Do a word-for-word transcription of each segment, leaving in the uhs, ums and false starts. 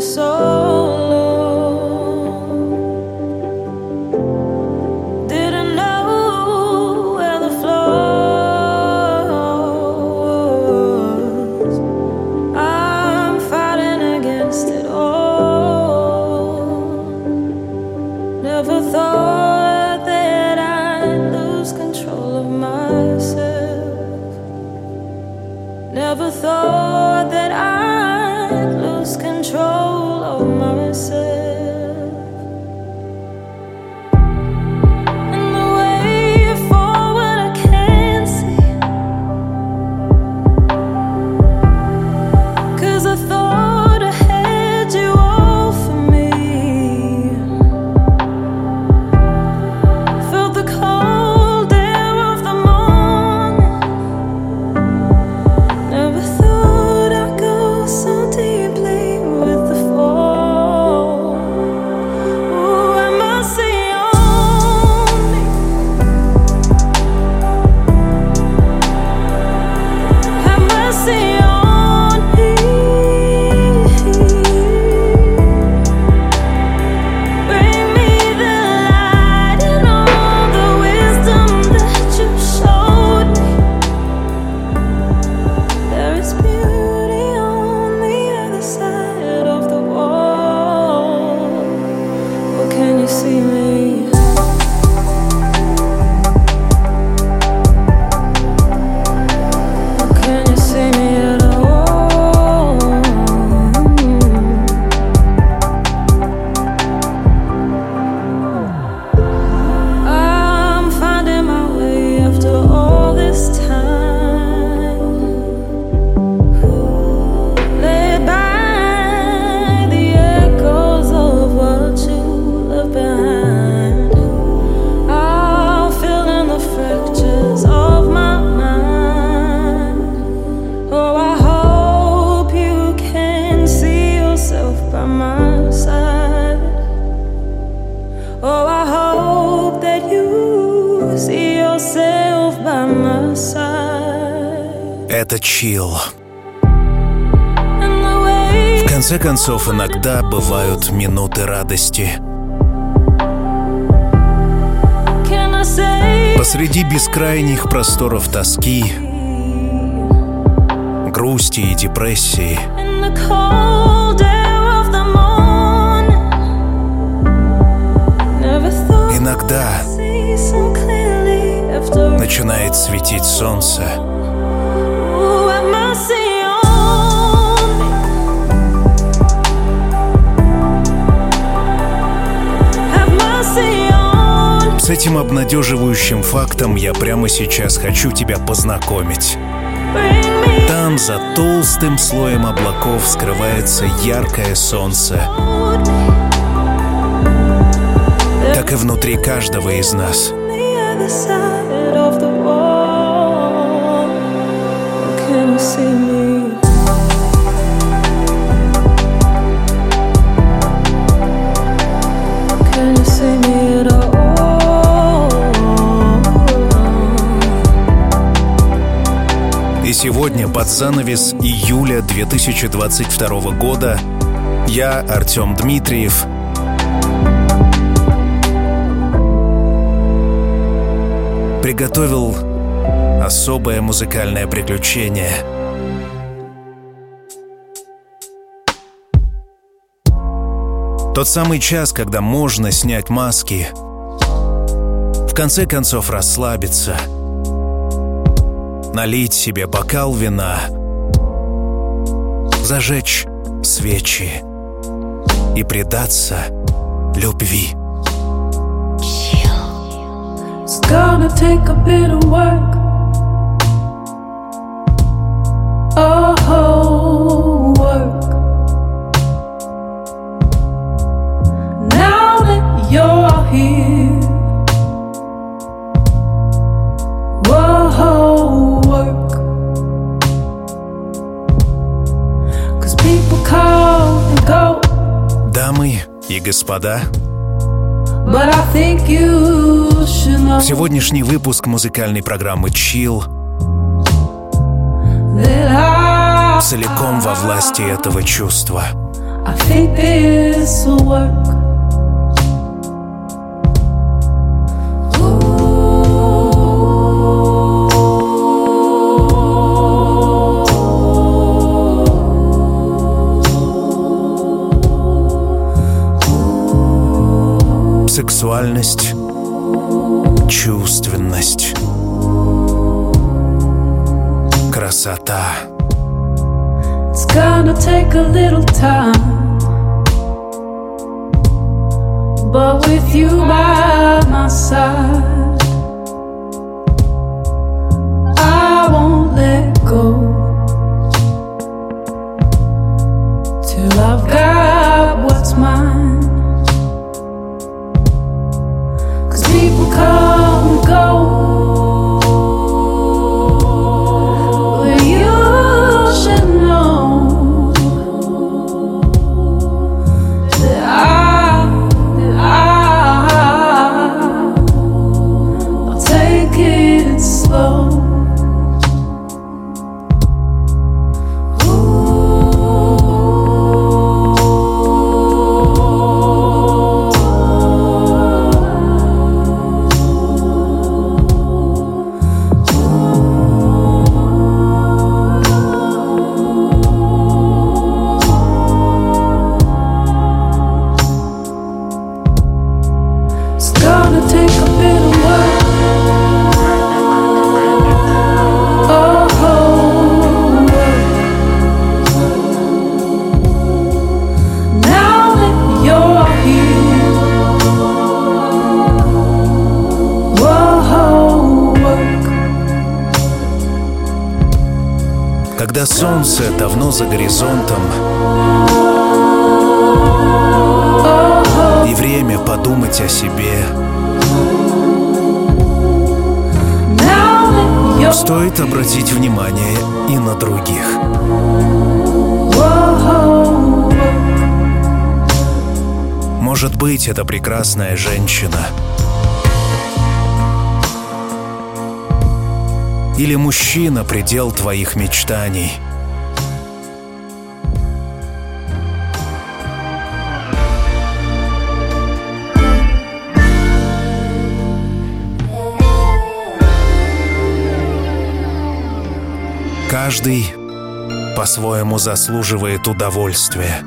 Это Chill. В конце концов, иногда бывают минуты радости. Посреди бескрайних просторов тоски, грусти и депрессии иногда начинает светить солнце. С этим обнадеживающим фактом я прямо сейчас хочу тебя познакомить. Там, за толстым слоем облаков, скрывается яркое солнце. Так и внутри каждого из нас. И сегодня, под занавес июля две тысячи двадцать второго года, я, Артем Дмитриев, приготовил особое музыкальное приключение. Тот самый час, когда можно снять маски, в конце концов расслабиться, налить себе бокал вина, зажечь свечи и предаться любви. It's gonna take a bit of work. Oh, work. Now that you're here, whoa, work. 'Cause people come and go. Дамы и господа, But I think you should know. сегодняшний выпуск музыкальной программы Chill That I, целиком во власти этого чувства. I think this will work. Сексуальность, чувственность, красота. It's gonna take a little time, but with you by my side, I won't let go till I've got what's mine. People come and go, but you should know that I, that I, I'll take it slow. Когда солнце давно за горизонтом, и время подумать о себе, стоит обратить внимание и на других. Может быть, это прекрасная женщина или мужчина — предел твоих мечтаний. Каждый по-своему заслуживает удовольствия.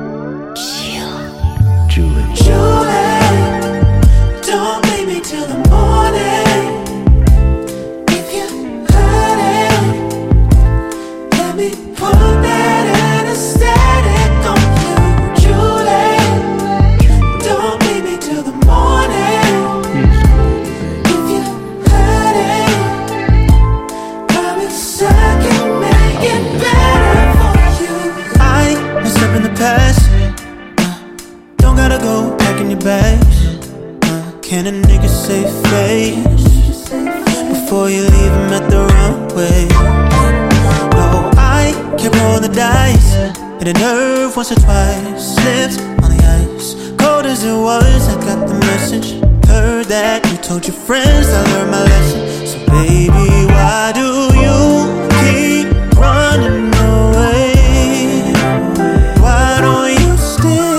Julie. Julie, don't leave me till the morning. If you heard it, let me put that anesthetic on you. Julie, don't leave me till the morning. If you heard it, promise I can make it better for you. I messed up in the past. Gotta go pack in your bags. uh, Can a nigga save face before you leave him at the runway? No, I can't roll the dice. Hit a nerve once or twice. Slipped on the ice. Cold as it was, I got the message. Heard that you told your friends I learned my lesson. So baby, why do you keep running away? Why don't you stay?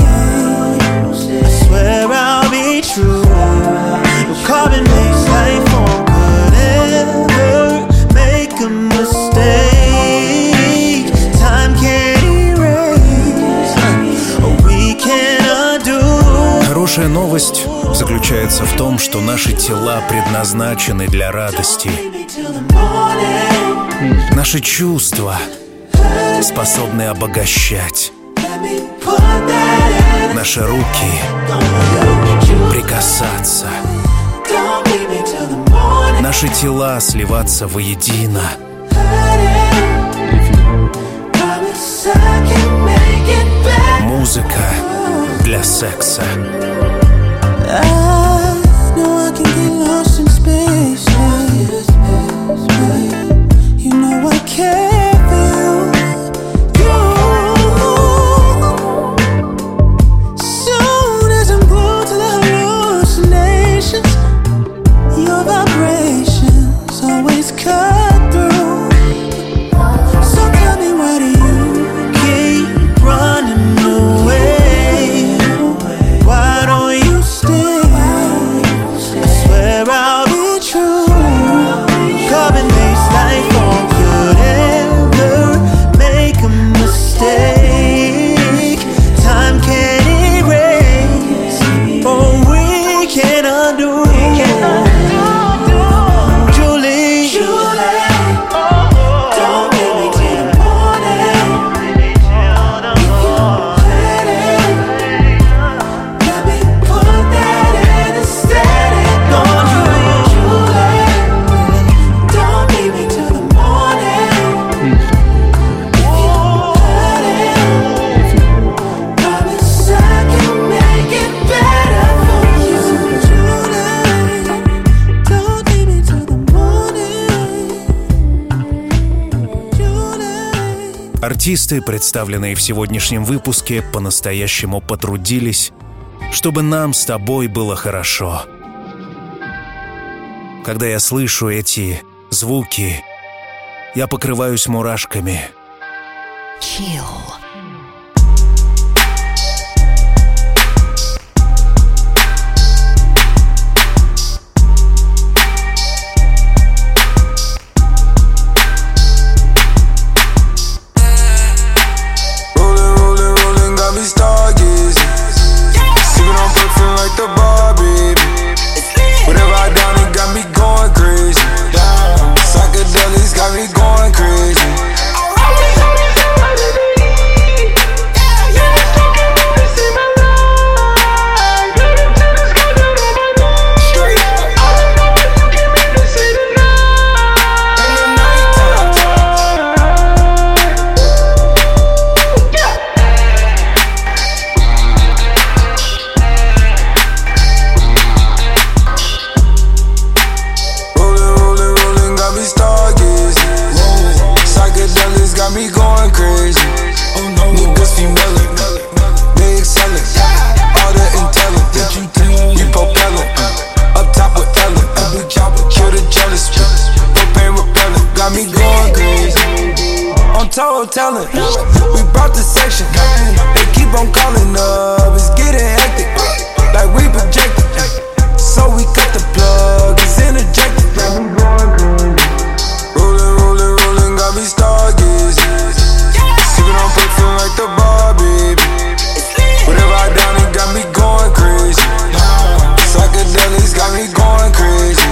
True, no carbon makes life on. Could ever make a mistake? Time can't erase, or we can undo. Хорошая новость заключается в том, что наши тела предназначены для радости. Наши чувства способны обогащать. Наши руки прикасаться. Наши тела сливаться воедино. Музыка для секса. So tell me, why do you keep running away? Артисты, представленные в сегодняшнем выпуске, по-настоящему потрудились, чтобы нам с тобой было хорошо. Когда я слышу эти звуки, я покрываюсь мурашками. Chill. Talent. We brought the section. They keep on calling up. It's getting hectic. Like we projected. So we cut the plug. It's interjected. Rolling, rolling, rolling. Got me stargazing. Sipping on perfume like the bar, baby. Whatever I done, it got me going crazy. Psychedelics got me going crazy.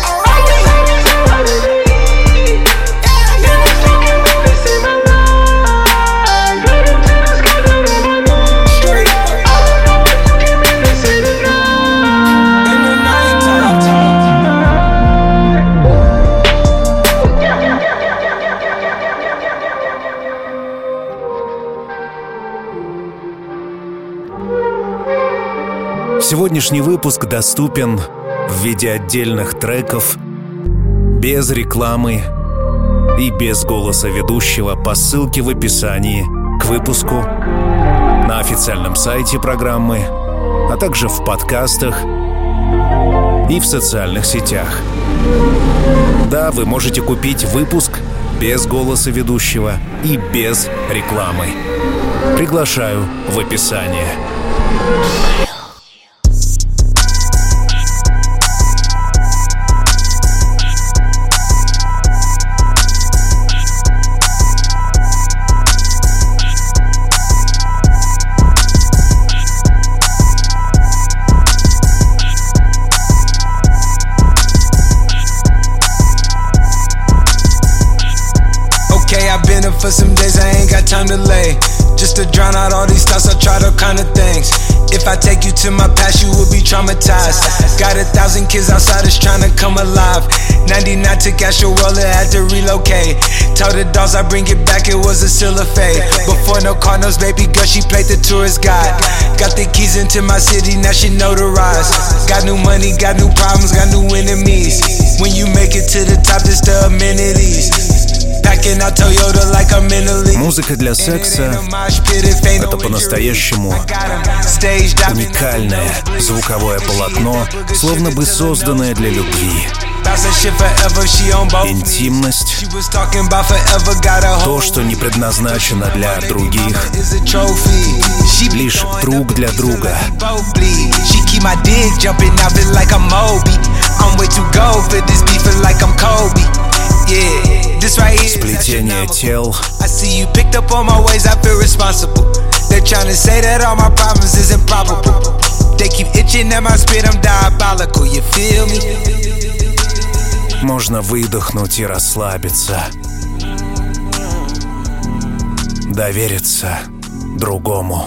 Сегодняшний выпуск доступен в виде отдельных треков, без рекламы и без голоса ведущего по ссылке в описании к выпуску, на официальном сайте программы, а также в подкастах и в социальных сетях. Да, вы можете купить выпуск без голоса ведущего и без рекламы. Приглашаю в описание. For some days I ain't got time to lay. Just to drown out all these thoughts, I tried all kind of things. If I take you to my past, you will be traumatized. Got a thousand kids outside that's trying to come alive. ninety-nine took out your roller, had to relocate. Tell the dogs I bring it back, it was a still a fade. Before no Cardinals, baby girl, she played the tourist guide. Got the keys into my city, now she notarized. Got new money, got new problems, got new enemies. When you make it to the top, it's the amenities. Музыка для секса — это по-настоящему уникальное звуковое полотно, словно бы созданное для любви. Интимность — то, что не предназначено для других, лишь друг для друга. Сплетение тел. Можно выдохнуть и расслабиться, довериться другому.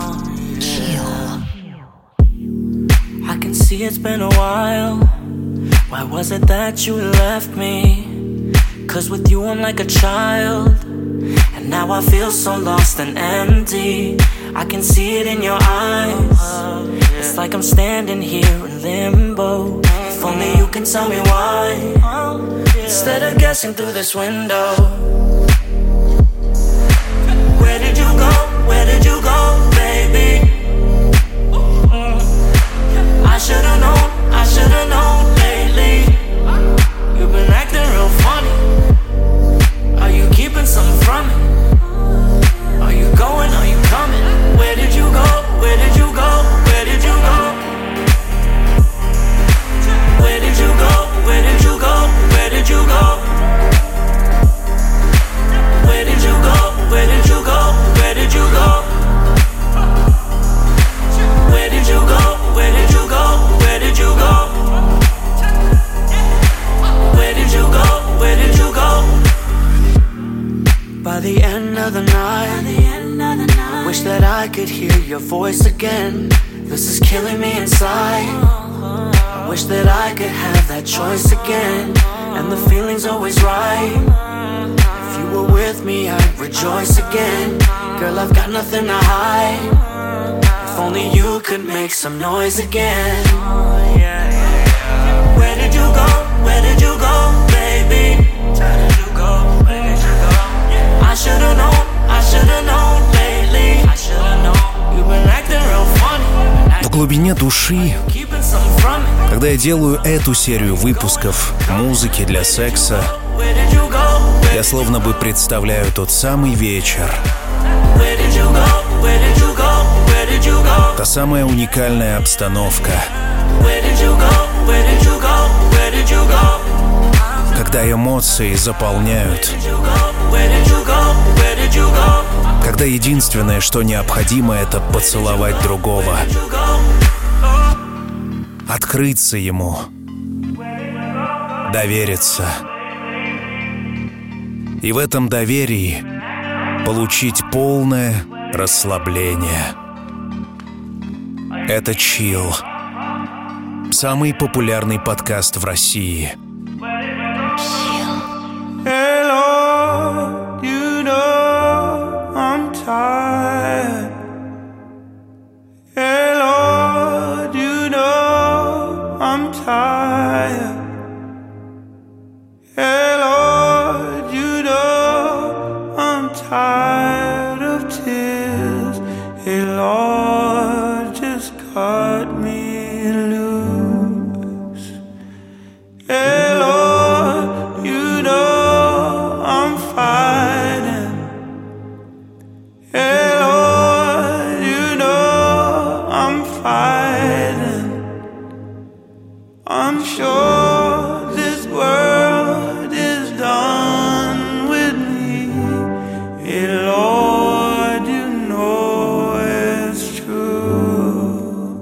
I can see it's been a while. Why was it that you left me? Cause with you I'm like a child, and now I feel so lost and empty. I can see it in your eyes. It's like I'm standing here in limbo. If only you can tell me why, instead of guessing through this window. Where did you go? Where did you go, baby? I should've known, I should've known lately. You've been acting real funny. Are you keeping something from me? Are you going, are you coming? Where did you go? Where did you go? Where did you go? Where did you go? Where did you go? Where did you go? Where did you go? Where did you go? Where did you go? Where did you go? Where did you go? Where did you go? Where did you go? Where did you go? By the end of the night, wish that I could hear your voice again. This is killing me inside. I wish that I could have that choice again, and the feeling's always right. If you were with me, I'd rejoice again. Girl, I've got nothing to hide. If only you could make some noise again. Where did you go? Where did you go, baby? Where did you go? Where did you go? I should've known, I should've known lately. I should've known. You've been acting real funny. В глубине души, когда я делаю эту серию выпусков музыки для секса, я словно бы представляю тот самый вечер. Та самая уникальная обстановка, когда эмоции заполняют, когда единственное, что необходимо, это поцеловать другого, открыться ему, довериться. И в этом доверии получить полное расслабление. Это Chill. Самый популярный подкаст в России. Hello, you know I'm tired. Hello, you know I'm tired. Hello, you know I'm tired of tears. Hey Lord, just cut me loose. Hey Lord, you know I'm fighting. Hey Lord, you know I'm fighting. I'm sure this world is done with me. Hey Lord, you know it's true.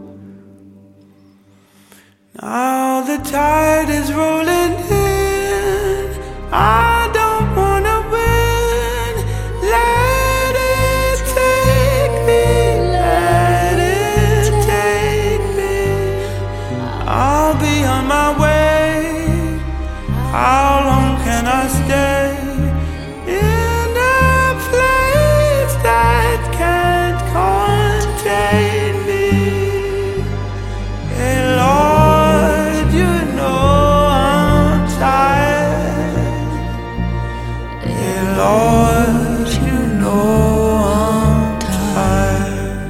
Now the tide is rolling in. I don't wanna win. Let it take me, let it take me. I'll be on my way. How long can I stay in a place that can't contain me? Hey Lord, you know I'm tired. Hey Lord, you know I'm tired.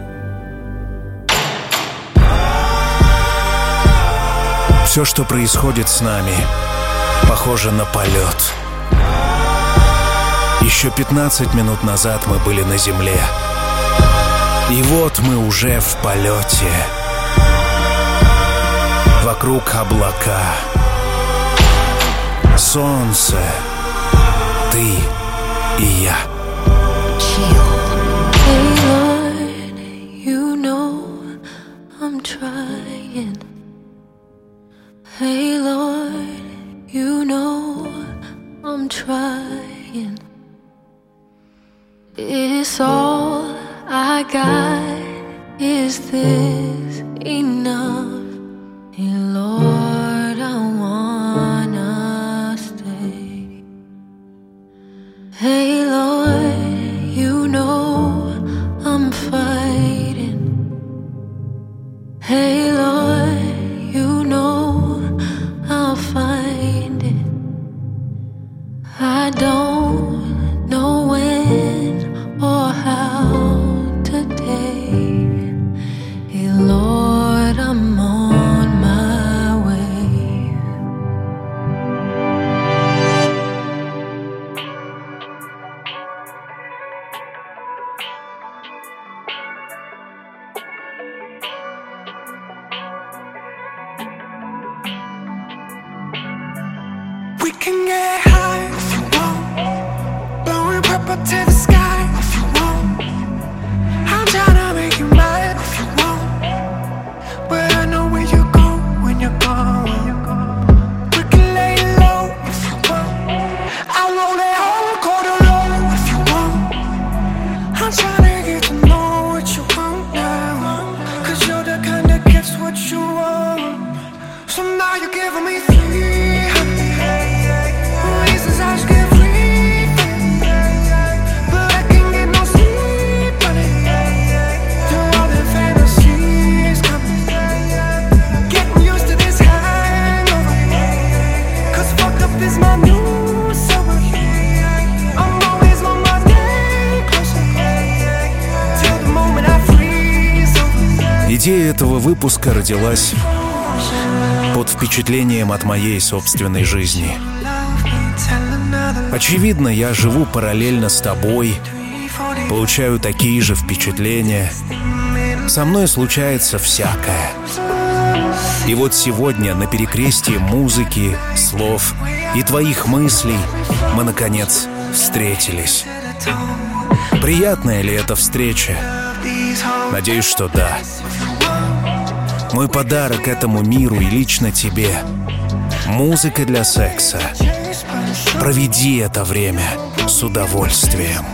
Все, что происходит с нами, похоже на полет. Еще пятнадцать минут назад мы были на земле. И вот мы уже в полете. Вокруг облака. Солнце. Ты и я. Hey Lord, you know I'm trying. Hey Lord, you know I'm trying. It's all I got. Is this enough? Hey Lord, I wanna stay. Hey Lord, you know I'm fighting. Hey Lord, you know I'll find it. I don't know when, can get high if you want, blowing purple to the sky if you want. I'm tryna make you mad if you want, but I know where you go when you're gone. We can lay low if you want. I'll roll that whole quarter low if you want. I'm tryna get to know what you want now, 'cause you're the kind that gets what you want. So now you're giving me three reasons I should get free, but I can't get no sleep, honey. You're all the fantasies coming, getting used to this hangover, 'cause fucked up is my new sober. I'm always on my day closer till the moment I freeze over. Идея этого выпуска родилась под впечатлением от моей собственной жизни. Очевидно, я живу параллельно с тобой, получаю такие же впечатления. Со мной случается всякое. И вот сегодня на перекрестии музыки, слов и твоих мыслей мы, наконец, встретились. Приятная ли эта встреча? Надеюсь, что да. Мой подарок этому миру и лично тебе — музыка для секса. Проведи это время с удовольствием.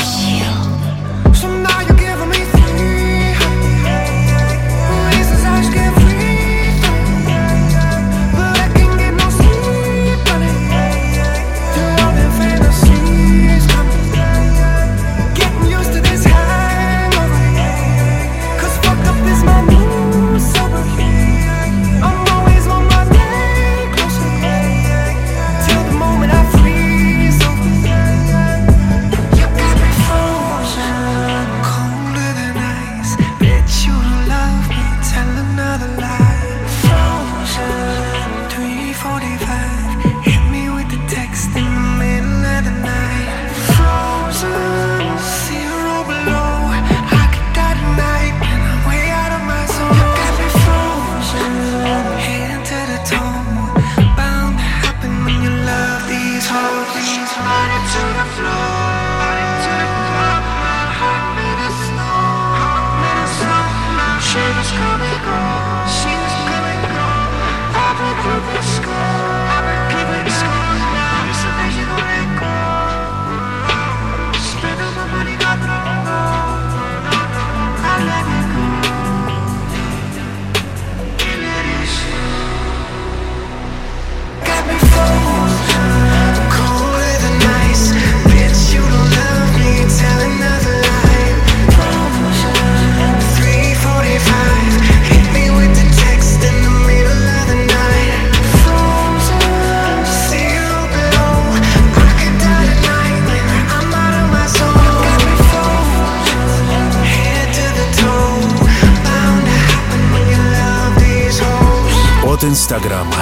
От Инстаграма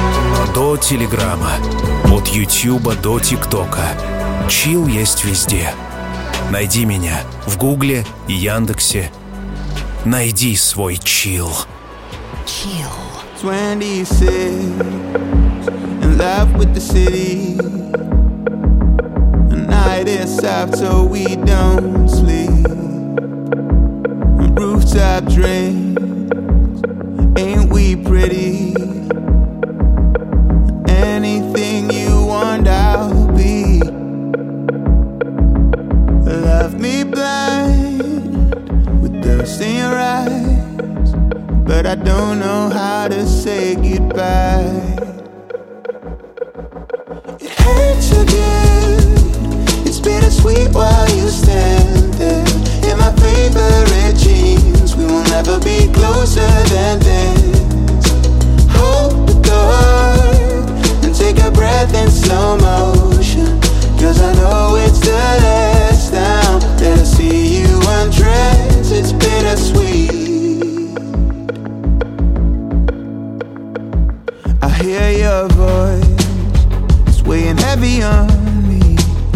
до Телеграма, от Ютьюба до ТикТока. Чил есть везде. Найди меня в Гугле и Яндексе. Найди свой чил. Chill. twenty-six, in love with the city. The night is up so we don't sleep. Rooftop drinks, ain't we pretty? Anything you want, I'll be. Love me blind with thirst in your eyes, but I don't know how to say goodbye. It hurts again. It's bittersweet while you stand there in my favorite jeans. We will never be closer than this. Hold the door and take a breath in slow motion, 'cause I know it's the last time that I see you undress. It's bittersweet. I hear your voice, it's weighing heavy on me.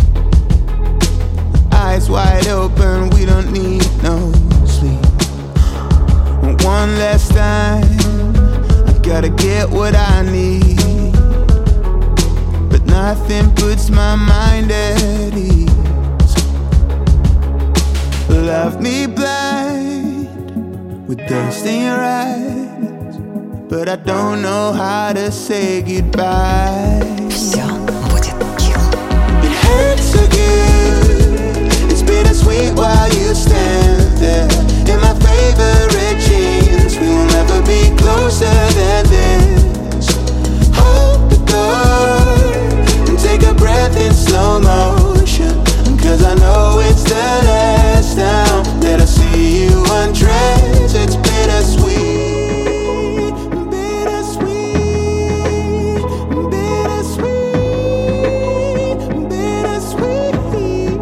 Eyes wide open, we don't need no sleep. One last time, I gotta get what I need. But nothing puts my mind at ease. Left me blind with dust in your eyes, but I don't know how to say goodbye. Все будет chill. It hurts so good. It's bittersweet while you stand there in my favorite jeans. We will never be closer than this. Hold the door and take a breath in slow motion, 'cause I know it's the last time that I see you undress. It's bittersweet, bittersweet, bittersweet, bittersweet.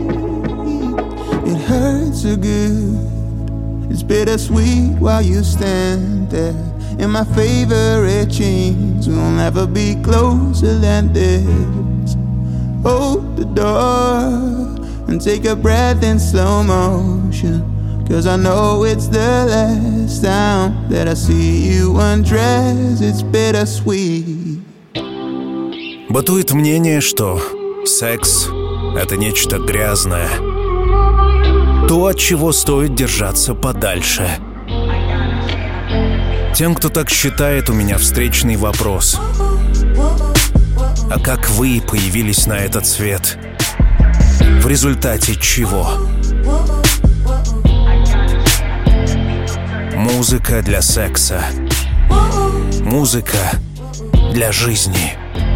It hurts so good. It's bittersweet while you stand there in my favorite jeans. We'll never be closer than this. Hold the door and take a breath in slow motion, 'cause I know it's the last time that I see you undress. It's bittersweet. Бытует мнение, что секс — это нечто грязное, то, от чего стоит держаться подальше. Тем, кто так считает, у меня встречный вопрос. А как вы появились на этот свет? В результате чего? Музыка для секса. Музыка для жизни.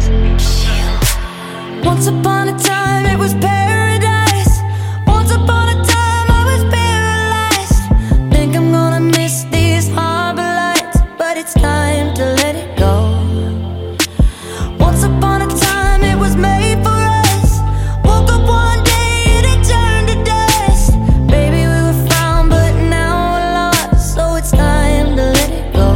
Once upon a time it was paradise. Once upon a time I was paralyzed. Think I'm gonna miss these harbor lights, but it's time to let it go. Once upon a time it was made for us. Woke up one day and it turned to dust. Baby, we were found, but now we're lost, so it's time to let it go.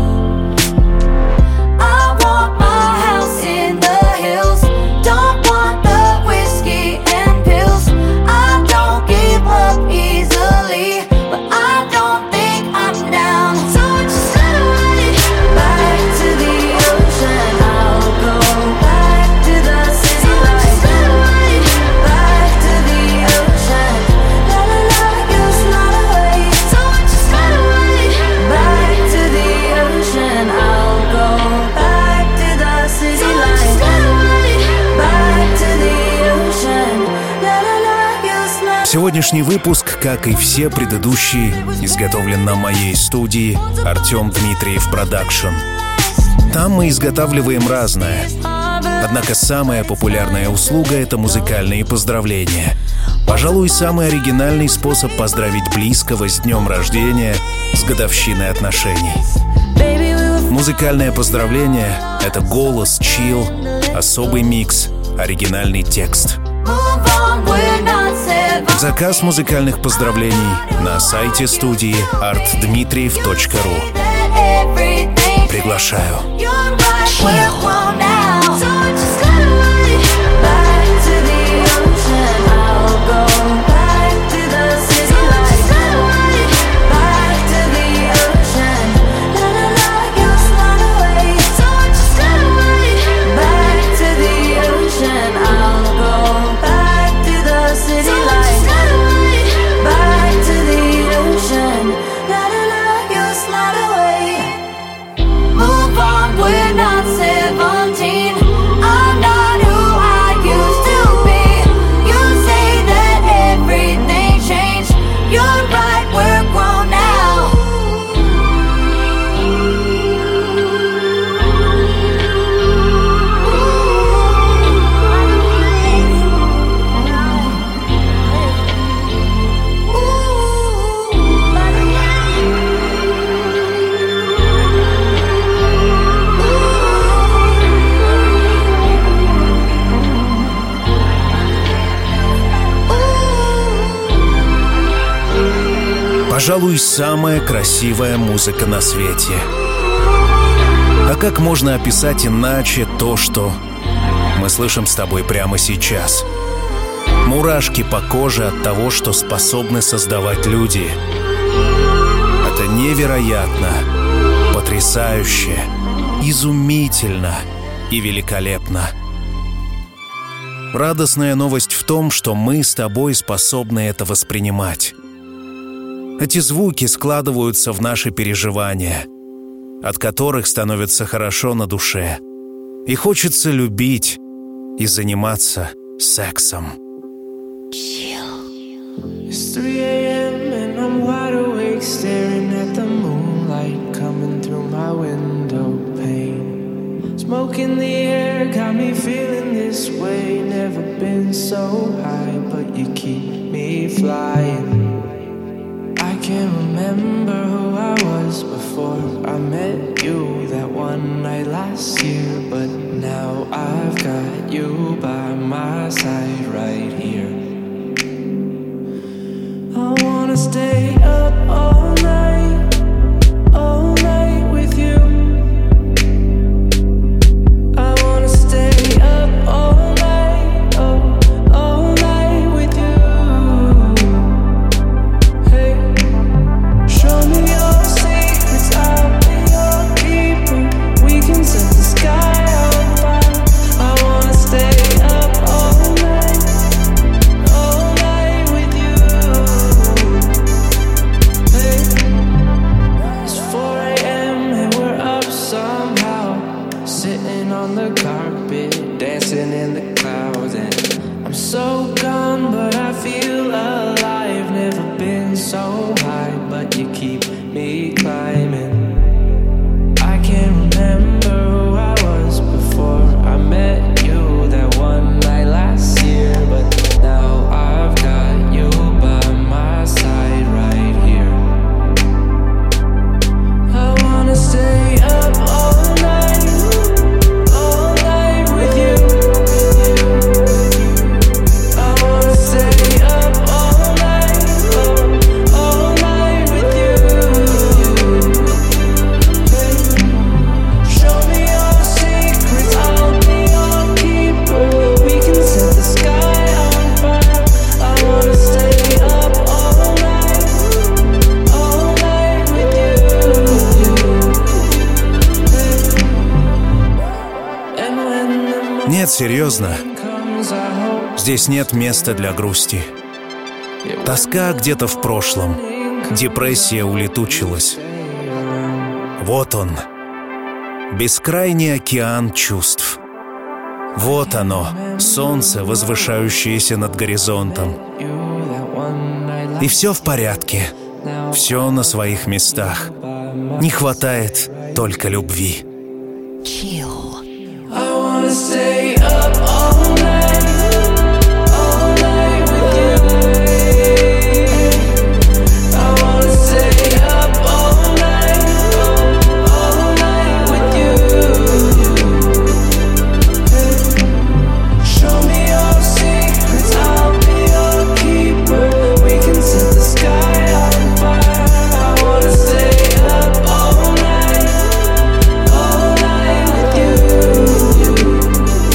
I want my house in the hills. Don't want the whiskey and pills. I don't give up easily, but I don't think I'm down. So I just gotta run it back to the ocean. I'll go back to the city lights. So I just gotta run it back to the ocean. La la la, you slide away. So I just gotta run it back to the ocean. I'll go back to the city lights. So I just gotta run it back to the ocean. La la la, you slide. Сегодняшний выпуск, как и все предыдущие, изготовлен на моей студии Артем Дмитриев Продакшн. Там мы изготавливаем разное. Однако самая популярная услуга — это музыкальные поздравления. Пожалуй, самый оригинальный способ поздравить близкого с днем рождения, с годовщиной отношений. Музыкальное поздравление — это голос, чил, особый микс, оригинальный текст. Move on, we're not said. Заказ музыкальных поздравлений на сайте студии арт дмитриев точка ру. Приглашаю. You're right, we're grown now. So I just gotta run it back to the ocean. I'll go back to the city lights. So I just gotta run it back to the ocean. La la la, you slide away. So I just gotta run it back to the ocean. I'll go back to the city lights. So I just gotta run it back to the ocean. La la la, you slide away. Move on, we're not seventeen. I'm not who I used to be. You say that everything changed. You're right, we're grown now. Пожалуй, самая красивая музыка на свете. А как можно описать иначе то, что мы слышим с тобой прямо сейчас? Мурашки по коже от того, что способны создавать люди. Это невероятно, потрясающе, изумительно и великолепно. Радостная новость в том, что мы с тобой способны это воспринимать. Эти звуки складываются в наши переживания, от которых становится хорошо на душе. И хочется любить и заниматься сексом. It's three a.m. and I'm wide awake, staring at the moonlight coming through my window pane. Smoke in the air got me feeling this way. Never been so high, but you keep me flying. I can't remember who I was before I met you that one night last year, but now I've got you by my side right here. I wanna stay up all night, all night with you. I wanna stay up all night, oh, all night with you. Hey, show me your secrets, I'll be your keeper. We can set the sky on fire. I wanna stay up all night, all night with you. It's four a.m. and we're up somehow, sitting on the carpet, dancing in the clouds. And I'm so gone, but I feel alive. Never been so high, but you keep me climbing. I can't remember who I was before I met you that one night last year, but now I've got you by my side right here. I wanna stay up all night, all night with you. I wanna stay up all night, oh, all night with you. Show me your secrets, I'll be your keeper. We can set the sky on fire. I wanna stay up all night, all night with you. And when the Нет, серьезно, morning comes, I hope здесь нет места для грусти. Тоска где-то в прошлом, депрессия улетучилась. Вот он, бескрайний океан чувств. Вот оно, солнце, возвышающееся над горизонтом. you that one night И все в порядке, все на своих местах. Не хватает только любви. Chill. I wanna stay up all night, all night with you. I wanna stay up all night, all night with you. Show me your secrets, I'll be your keeper. We can set the sky on fire. I wanna stay up all night, all night with you.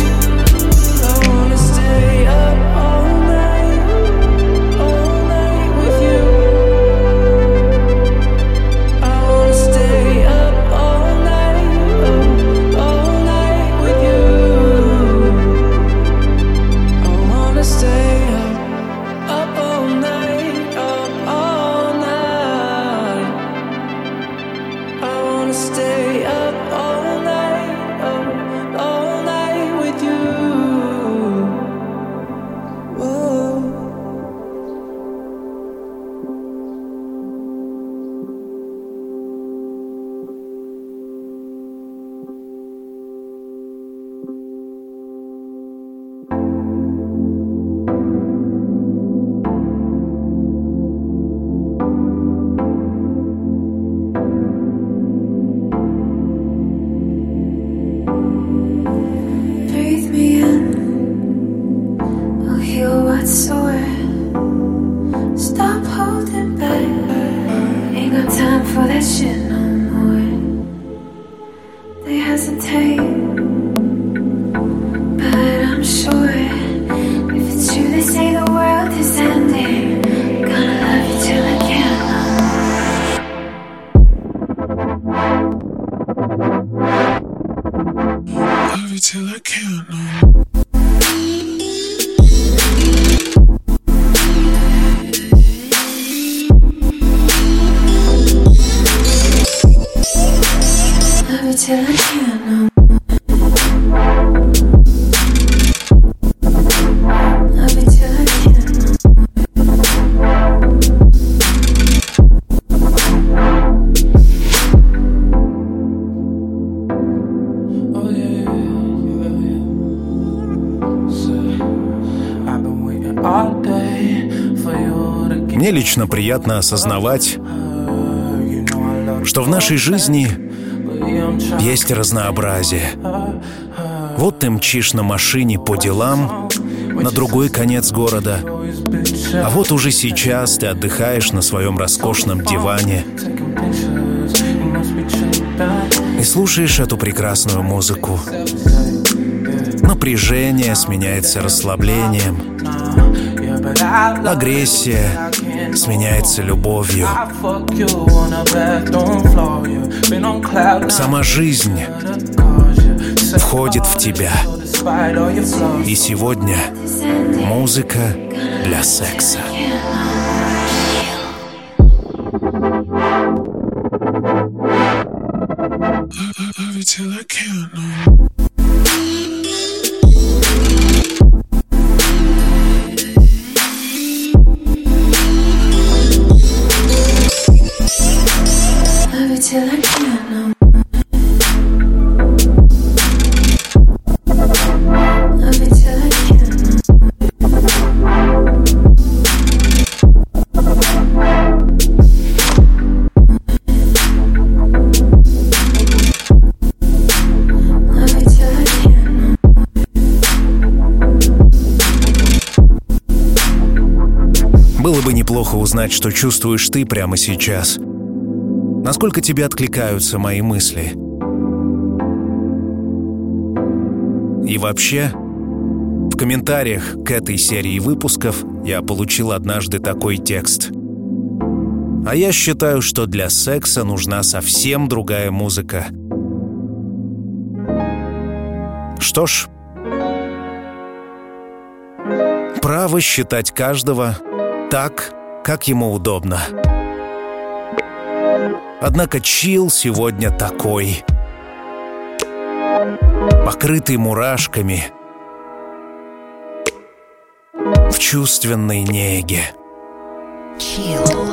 Мне лично приятно осознавать, что в нашей жизни есть разнообразие. Вот ты мчишь на машине по делам на другой конец города, а вот уже сейчас ты отдыхаешь на своем роскошном диване и слушаешь эту прекрасную музыку. Напряжение сменяется расслаблением, агрессия сменяется любовью. Сама жизнь входит в тебя. И сегодня музыка для секса. Было бы неплохо узнать, что чувствуешь ты прямо сейчас. Насколько тебе откликаются мои мысли. И вообще, в комментариях к этой серии выпусков я получил однажды такой текст. А я считаю, что для секса нужна совсем другая музыка. Что ж, право считать каждого так, как ему удобно. Однако чил сегодня такой, покрытый мурашками, в чувственной неге. Chill.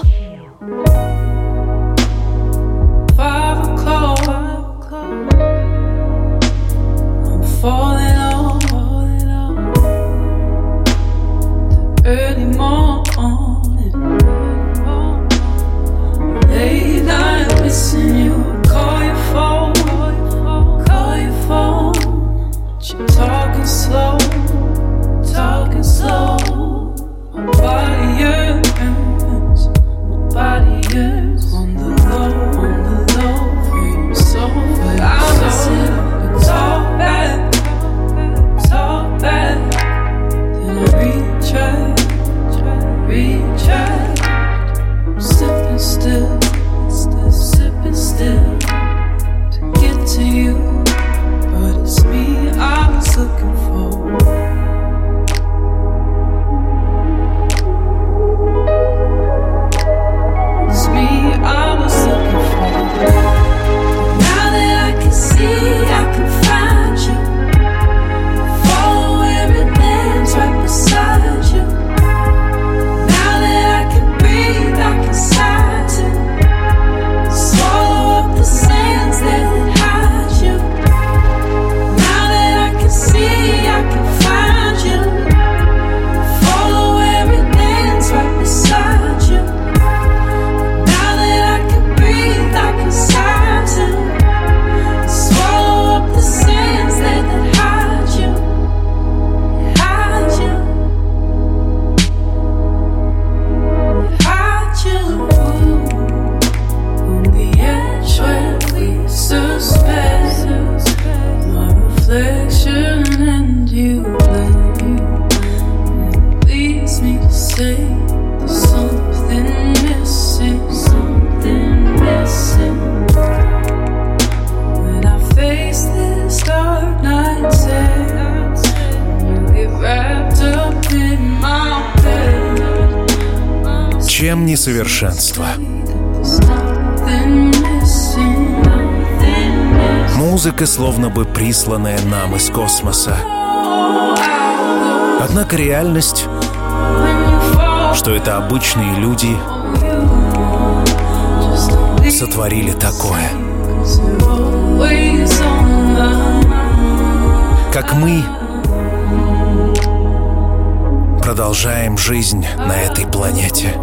Чем несовершенство? Музыка, словно бы присланная нам из космоса. Однако реальность, что это обычные люди сотворили такое. Как мы продолжаем жизнь на этой планете.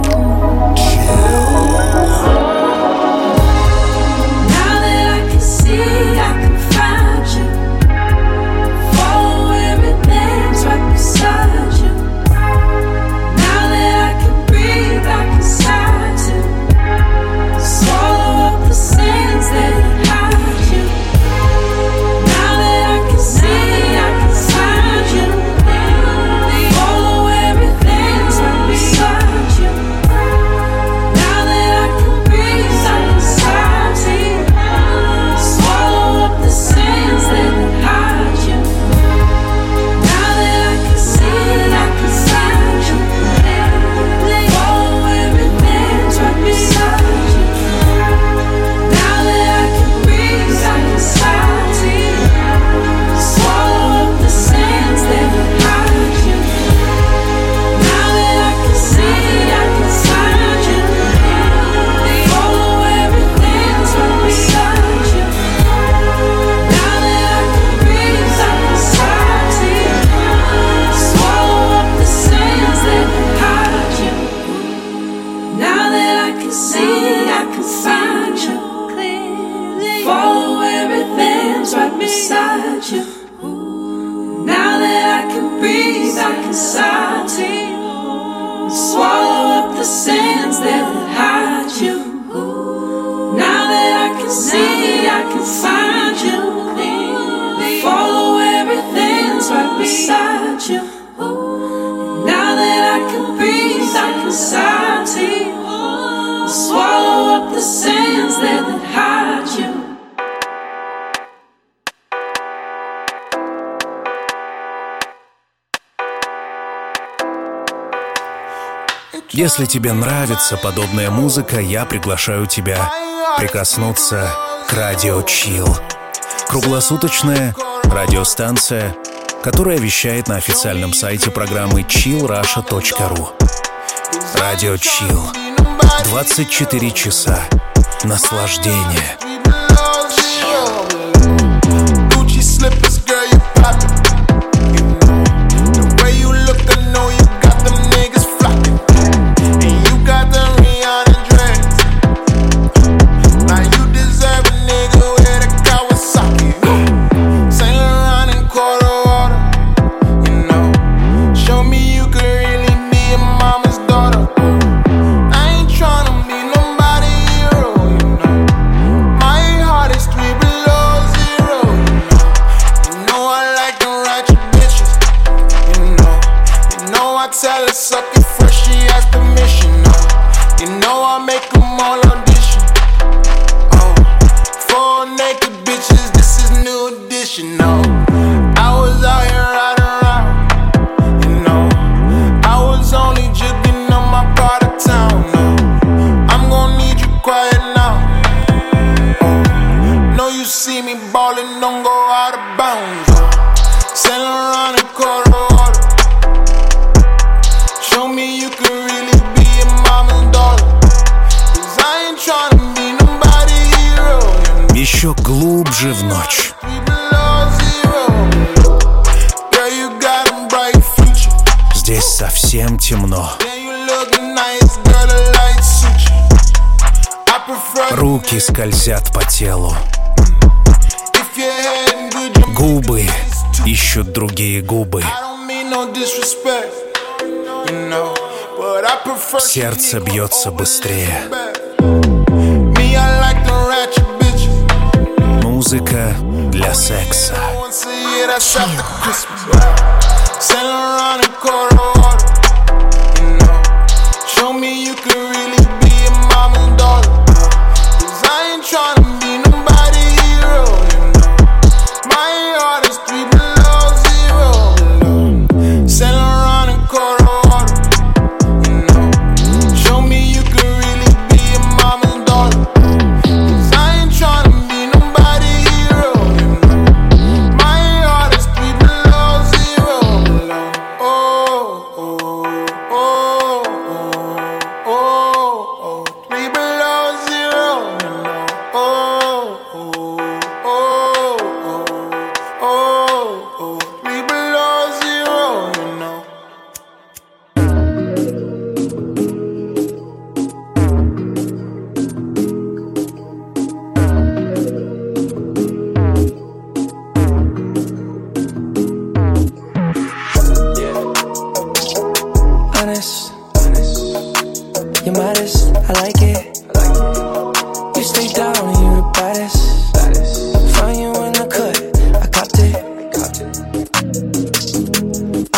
Если тебе нравится подобная музыка, я приглашаю тебя прикоснуться к Радио Chill. Круглосуточная радиостанция, которая вещает на официальном сайте программы чилл раша точка ру. Радио Chill. двадцать четыре часа наслаждения. Еще глубже в ночь. Здесь совсем темно. Руки скользят по телу. Губы ищут другие губы. Сердце бьется быстрее. Музыка для секса.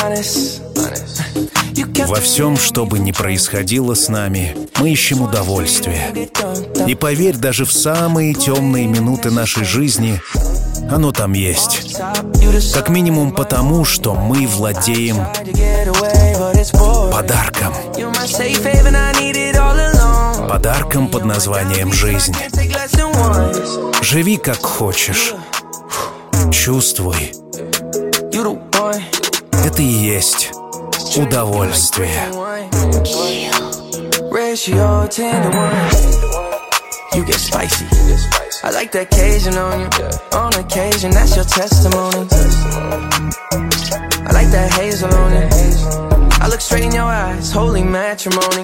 Во всем, что бы ни происходило с нами, мы ищем удовольствие. И поверь, даже в самые темные минуты нашей жизни оно там есть. Как минимум потому, что мы владеем подарком. Подарком под названием «Жизнь». Живи как хочешь. Чувствуй. Это и есть удовольствие. You get spicy. I like the occasion on you. On occasion, that's your testimony. I like that hazel on you. I look straight in your eyes, holy matrimony.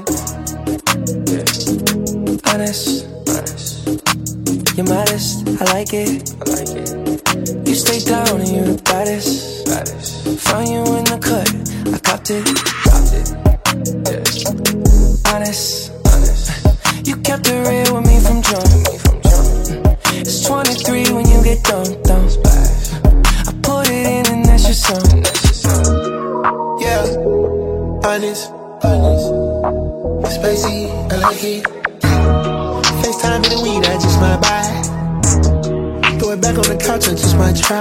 Honest, honest. You're modest, I like it. I like it. You stay down and you're the baddest. baddest. Found you in the cut, I copped it. Copped it. Yeah. Honest, honest. You kept it real with me from jump. It's twenty-three when you get dumped, dumped. I put it in and that's your song. Yeah, honest, honest. Spacey, I like it. FaceTime in the weed, I just might buy. Throw it back on the couch, I just might try.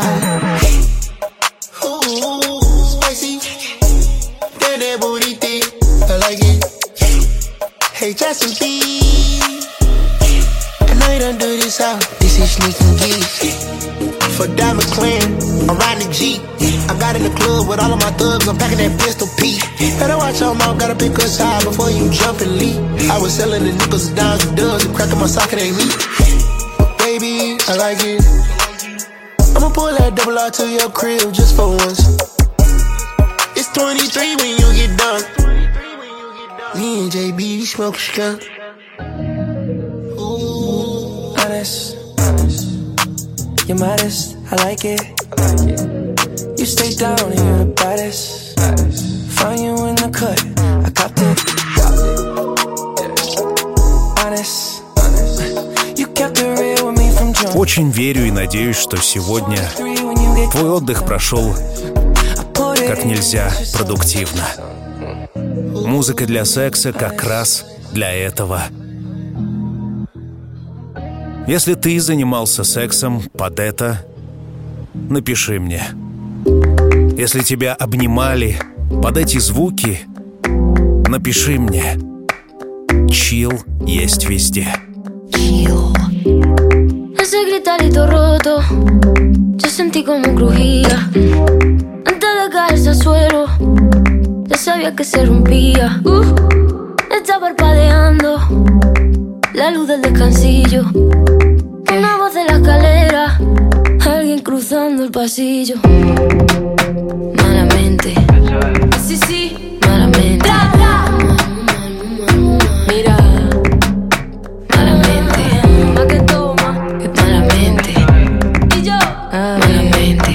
Ooh, spicy. That that booty thick, I like it. Hey, Justin B. I know you don't do this out. This is sneaking geeks. For Diamond Clan, I'm riding the Jeep. I got in the club with all of my thugs, I'm packing that pistol P. Better watch your mouth, gotta pick us high before you jump and leap. I was selling the nickels, dimes, and dubs, and cracking my socket ain't me. But baby, I like it. I'ma pull that double R to your crib just for once. It's twenty-three when you get done. Me and J B smoke skunk. Ooh, honest, honest. You're modest, I like it. I like it. You stay down and you're the baddest. baddest. Found you in the cut, I copped it. Copped it. Yeah. Honest, honest. You kept it real with me from jump. Очень верю и надеюсь, что сегодня твой отдых прошел как нельзя продуктивно. Музыка для секса как раз для этого. Если ты занимался сексом под это, напиши мне. Если тебя обнимали под эти звуки, напиши мне. Чил есть везде. Chill. Ese gritarito roto, yo sentí como crujía. Antes de caerse al suelo, ya sabía que se rompía. Uh, está parpadeando la luz del descansillo. Una voz de la escalera, alguien cruzando el pasillo. Malamente, sí, sí, malamente. Mira, malamente, más que toma, que malamente. Y yo, malamente,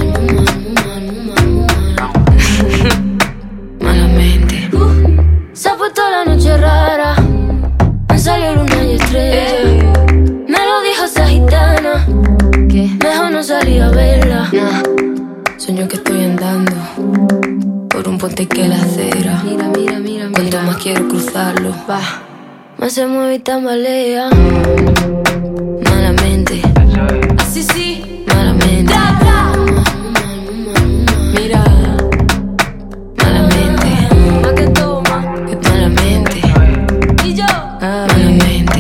malamente. Uh, se ha puesto la noche rara, han salido luna y estrella. Me lo dijo esa gitana, que mejor no salir a verla. Nah. Sueño que estoy andando por un puente que la acera. Mira, mira, mira, cuanto más quiero cruzarlo, va, más se mueve y tambalea. Malamente, así sí, malamente. Mira, malamente, más que toma, que malamente. Y yo, malamente.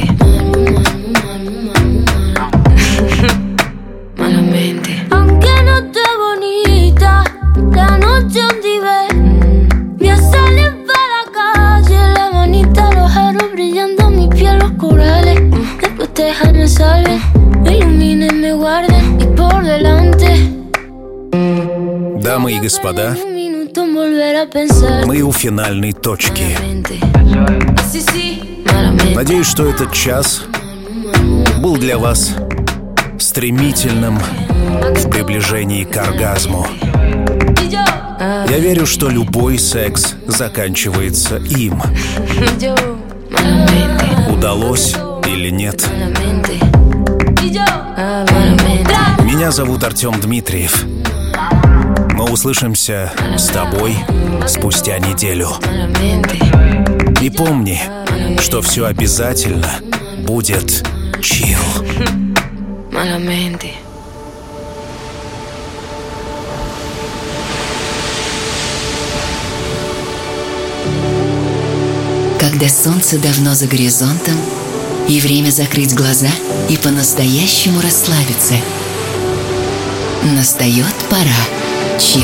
Malamente. Aunque no esté bonita, la noche donde ve, voy a salir para la calle, la manita, los aros brillando, mi piel, los corales. Después déjame salven, me iluminen, me guarden y por delante. Дамы и господа, Un minuto en volver a pensar. мы у финальной точки. Malamente. Sí, sí, malamente. Надеюсь, что этот час был для вас стремительным в приближении к оргазму. Y yo, Я верю, что любой секс заканчивается им. yo, malamente. Удалось или нет. Malamente. Y yo, malamente. Меня зовут Артем Дмитриев. Мы услышимся с тобой спустя неделю. И помни, что все обязательно будет чил. Когда солнце давно за горизонтом, и время закрыть глаза и по-настоящему расслабиться, настает пора чил.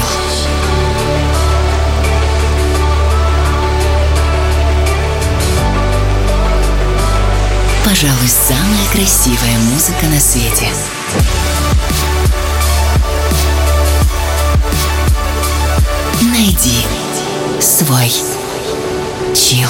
Пожалуй, самая красивая музыка на свете. Найди свой чил.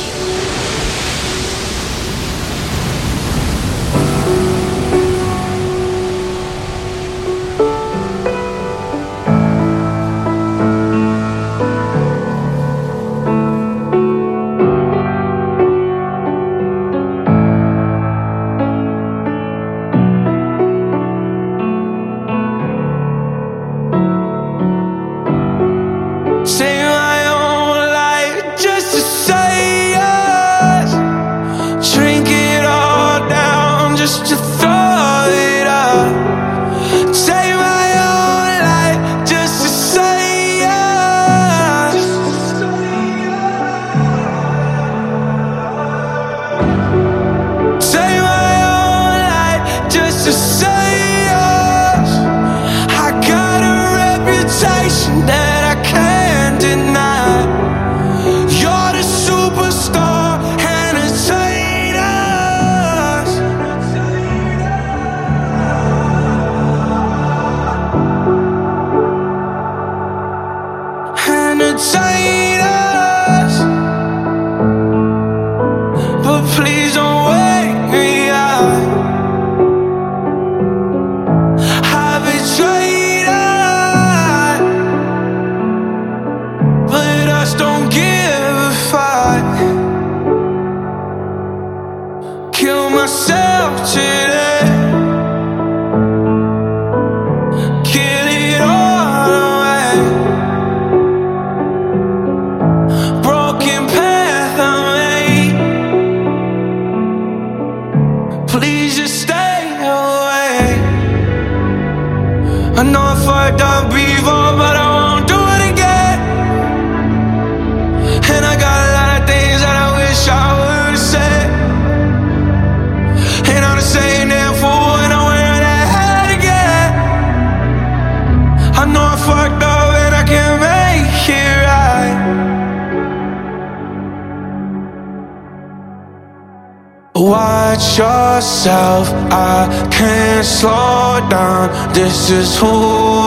Watch yourself, I can't slow down. This is who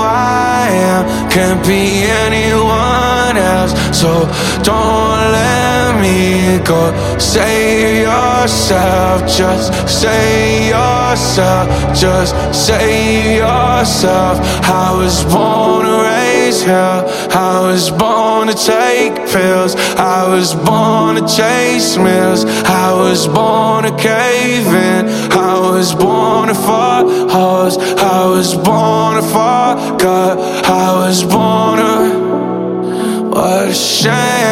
I am, can't be anyone else. So don't let me go. Save yourself, just save yourself, just save yourself. I was born to raise hell, I was born to take pills, I was born to chase meals, I was born to cave in, I was born to fuck hoes, I was born to fuck up, I was born to. What a shame.